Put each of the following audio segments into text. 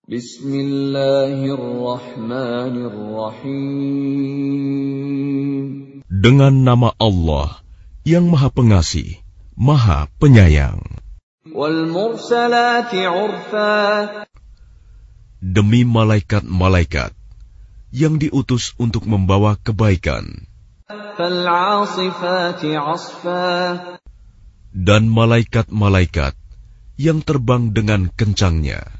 Bismillahirrahmanirrahim. Dengan nama Allah yang Maha Pengasih, Maha Penyayang. Wal mursalati urfa. Demi malaikat-malaikat yang diutus untuk membawa kebaikan. Fal 'asifati 'asfa. Dan malaikat-malaikat yang terbang dengan kencangnya.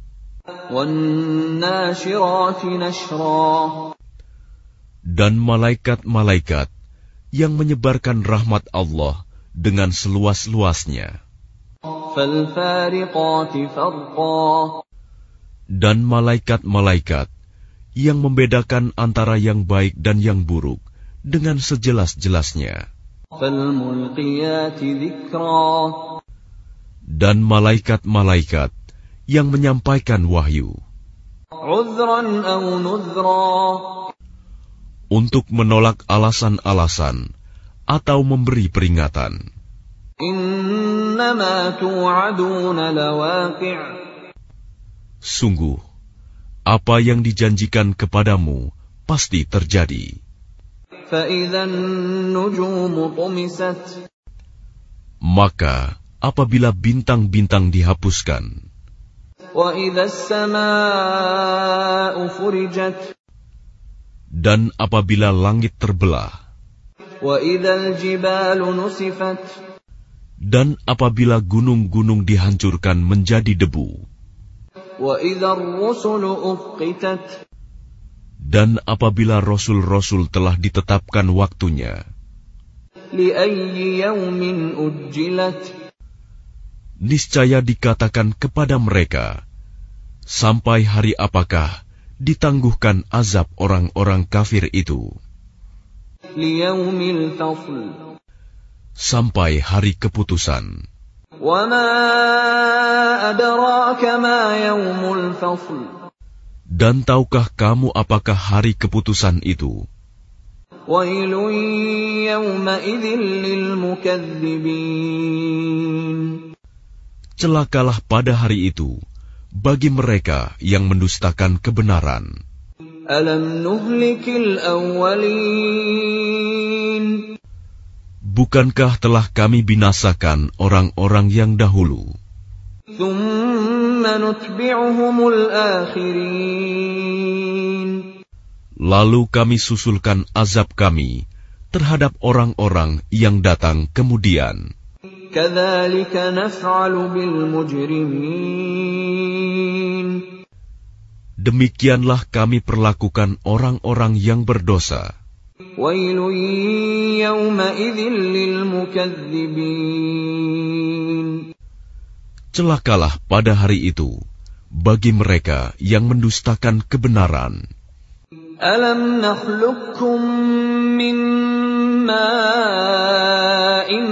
Dan malaikat-malaikat yang menyebarkan rahmat Allah dengan seluas-luasnya. Dan malaikat-malaikat yang membedakan antara yang baik dan yang buruk dengan sejelas-jelasnya. Dan malaikat-malaikat yang menyampaikan wahyu untuk menolak alasan-alasan atau memberi peringatan. Sungguh, apa yang dijanjikan kepadamu pasti terjadi. Maka apabila bintang-bintang dihapuskan, dan apabila langit terbelah, dan apabila gunung-gunung dihancurkan menjadi debu, dan apabila rasul-rasul telah ditetapkan waktunya, niscaya dikatakan kepada mereka, sampai hari apakah ditangguhkan azab orang-orang kafir itu? Sampai hari keputusan. Dan tahukah kamu apakah hari keputusan itu? Celakalah pada hari itu bagi mereka yang mendustakan kebenaran. Alam nuhlikil awwalin. Bukankah telah kami binasakan orang-orang yang dahulu? Thumma nutbi'uhumul akhirin. Lalu kami susulkan azab kami terhadap orang-orang yang datang kemudian. Kadzalika naf'alu bil mujrimin. Demikianlah kami perlakukan orang-orang yang berdosa. Wailun yawma idzin lil mukadzibin. Celakalah pada hari itu bagi mereka yang mendustakan kebenaran. Alam nakhluqkum min ma'in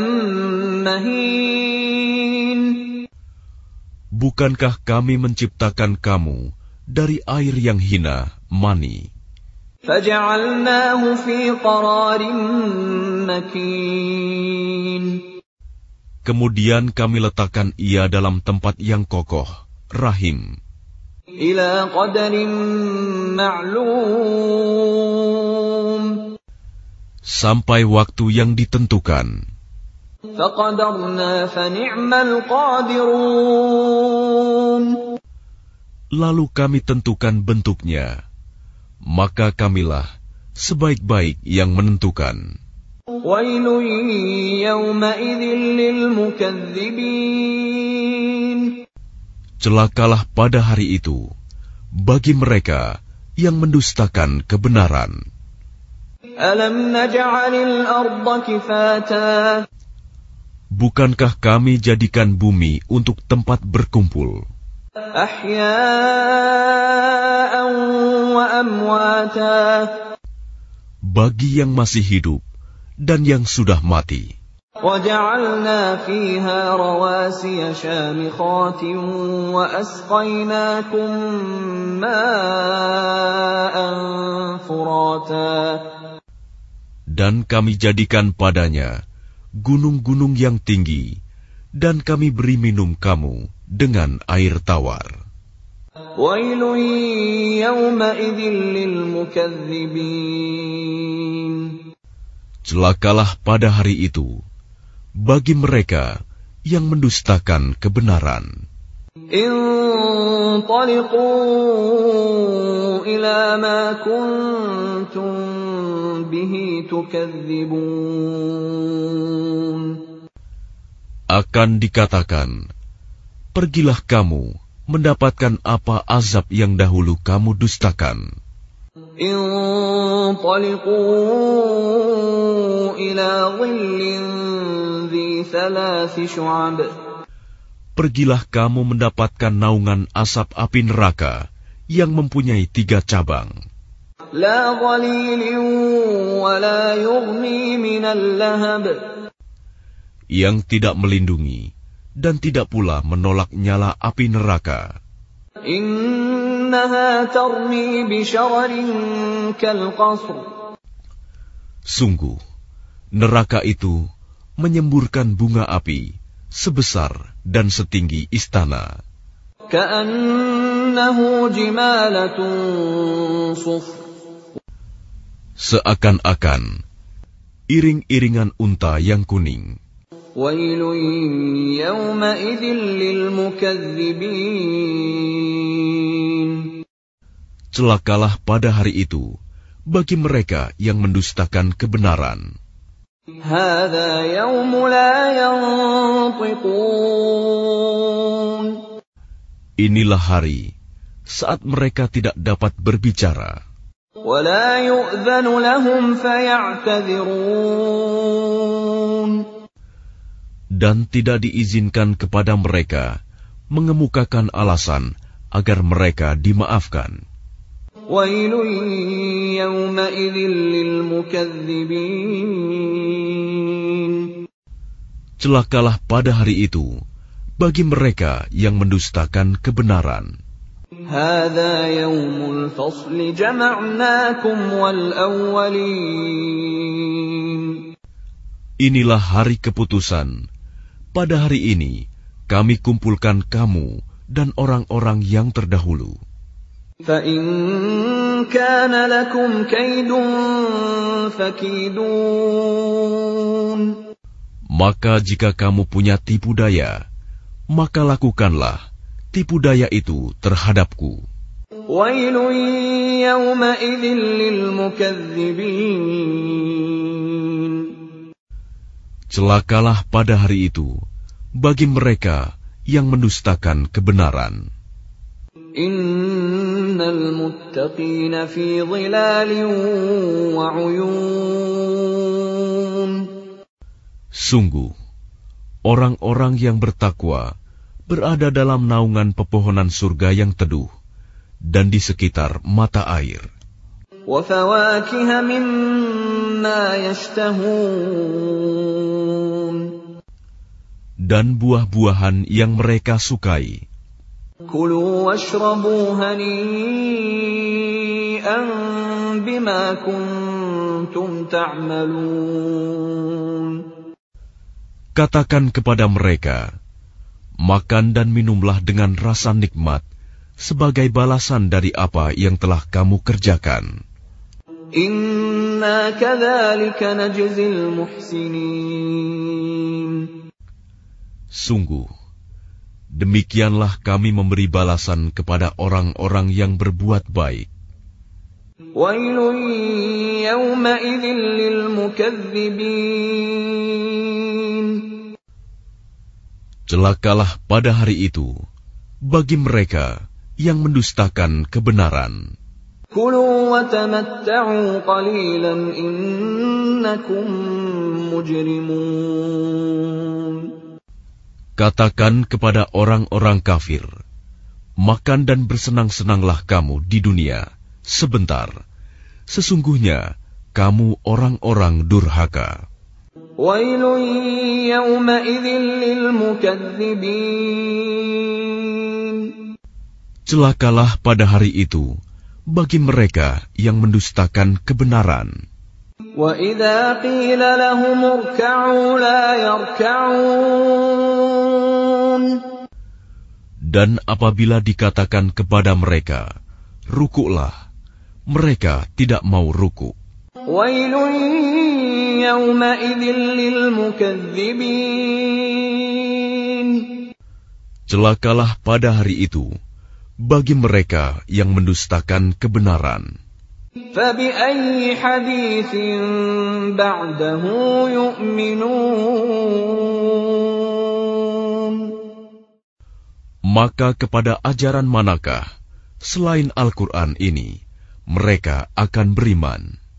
mahin. Bukankah kami menciptakan kamu dari air yang hina, mani? Faja'alnahu fi qararin makin. Kemudian kami letakkan ia dalam tempat yang kokoh, rahim. Ila qadarin ma'lum. Sampai waktu yang ditentukan. Faqadarna fa ni'mal qadirun. Lalu kami tentukan bentuknya, maka kamilah sebaik-baik yang menentukan. Wailun yawma idzin lil mukadzibin. Celakalah pada hari itu bagi mereka yang mendustakan kebenaran. Alam naj'alil arda kifata. Bukankah kami jadikan bumi untuk tempat berkumpul? Ahya'an wa amwata. Bagi yang masih hidup dan yang sudah mati. وَجَعَلْنَا فِيهَا رَوَاسِيَ شَامِخَاتٍ وَأَسْقَيْنَاكُم مَّاءً فُرَاتًا. Dan kami jadikan padanya gunung-gunung yang tinggi, dan kami beri minum kamu dengan air tawar. ويل يومئذ للمكذبين. Celakalah pada hari itu bagi mereka yang mendustakan kebenaran. انطلقوا إلى ما كنتم به تكذبون. Akan dikatakan, pergilah kamu mendapatkan apa azab yang dahulu kamu dustakan. انطلقوا إلى ظل ذي 3 شعب. Pergilah kamu mendapatkan naungan asap api neraka yang mempunyai 3 cabang. لا ظليل ولا يغني من اللهب. Yang tidak melindungi dan tidak pula menolak nyala api neraka. إنها ترمي بشرر كالقصر. Sungguh, neraka itu menyemburkan bunga api sebesar dan setinggi istana. كأنه جمالة صفر. Seakan-akan iring-iringan unta yang kuning. ويل يومئذ للمكذبين. Celakalah pada hari itu bagi mereka yang mendustakan kebenaran. هذا يوم لا ينطقون. Inilah hari saat mereka tidak dapat berbicara. ولا يؤذن لهم فيعتذرون. Dan tidak diizinkan kepada mereka mengemukakan alasan agar mereka dimaafkan. ويل يومئذ للمكذبين. Celakalah pada hari itu bagi mereka yang mendustakan kebenaran. هذا يوم الفصل جمعناكم والأولين. Inilah hari keputusan. Pada hari ini kami kumpulkan kamu dan orang-orang yang terdahulu. فإن كان لكم كيد فكيدون. Maka jika kamu punya tipu daya, maka lakukanlah tipu daya itu terhadapku. ويل يومئذ للمكذبين. Celakalah pada hari itu bagi mereka yang mendustakan kebenaran. Innal muttaqina fi dhilalin wa 'uyun. Sungguh, orang-orang yang bertakwa berada dalam naungan pepohonan surga yang teduh dan di sekitar mata air. Wa fawakiha mimma yashtahun. Dan buah-buahan yang mereka sukai. Kulu washrabu hani'an bima kuntum ta'malun. Katakan kepada mereka, makan dan minumlah dengan rasa nikmat sebagai balasan dari apa yang telah kamu kerjakan. Inna kadzalika najzil muhsinin. Sungguh, demikianlah kami memberi balasan kepada orang-orang yang berbuat baik. Wailun yawma'idhin lil mukadzibin. Celakalah pada hari itu bagi mereka yang mendustakan kebenaran. Kulu wa tamatta'u qalilan innakum mujrimun. Katakan kepada orang-orang kafir, makan dan bersenang-senanglah kamu di dunia sebentar. Sesungguhnya kamu orang-orang durhaka. Wailun yawma'idhin lil mukadzibin. Celakalah pada hari itu bagi mereka yang mendustakan kebenaran. Wa idza qila lahum irka'u la yarka'un. Dan apabila dikatakan kepada mereka, rukuklah, mereka tidak mau rukuk. Wailun yawma'idhin lilmukaththibin. Celakalah pada hari itu bagi mereka yang mendustakan kebenaran. فَبِأَيِّ حَدِيثٍ بَعْدَهُ يُؤْمِنُونَ. Maka kepada ajaran manakah selain Al-Quran ini mereka akan beriman?